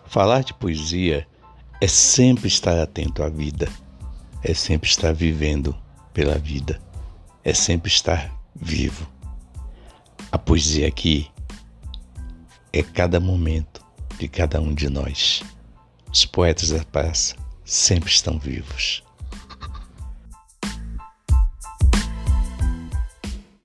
Falar de poesia é sempre estar atento à vida, é sempre estar vivendo pela vida, é sempre estar vivo. A poesia aqui é cada momento de cada um de nós. Os poetas da praça sempre estão vivos.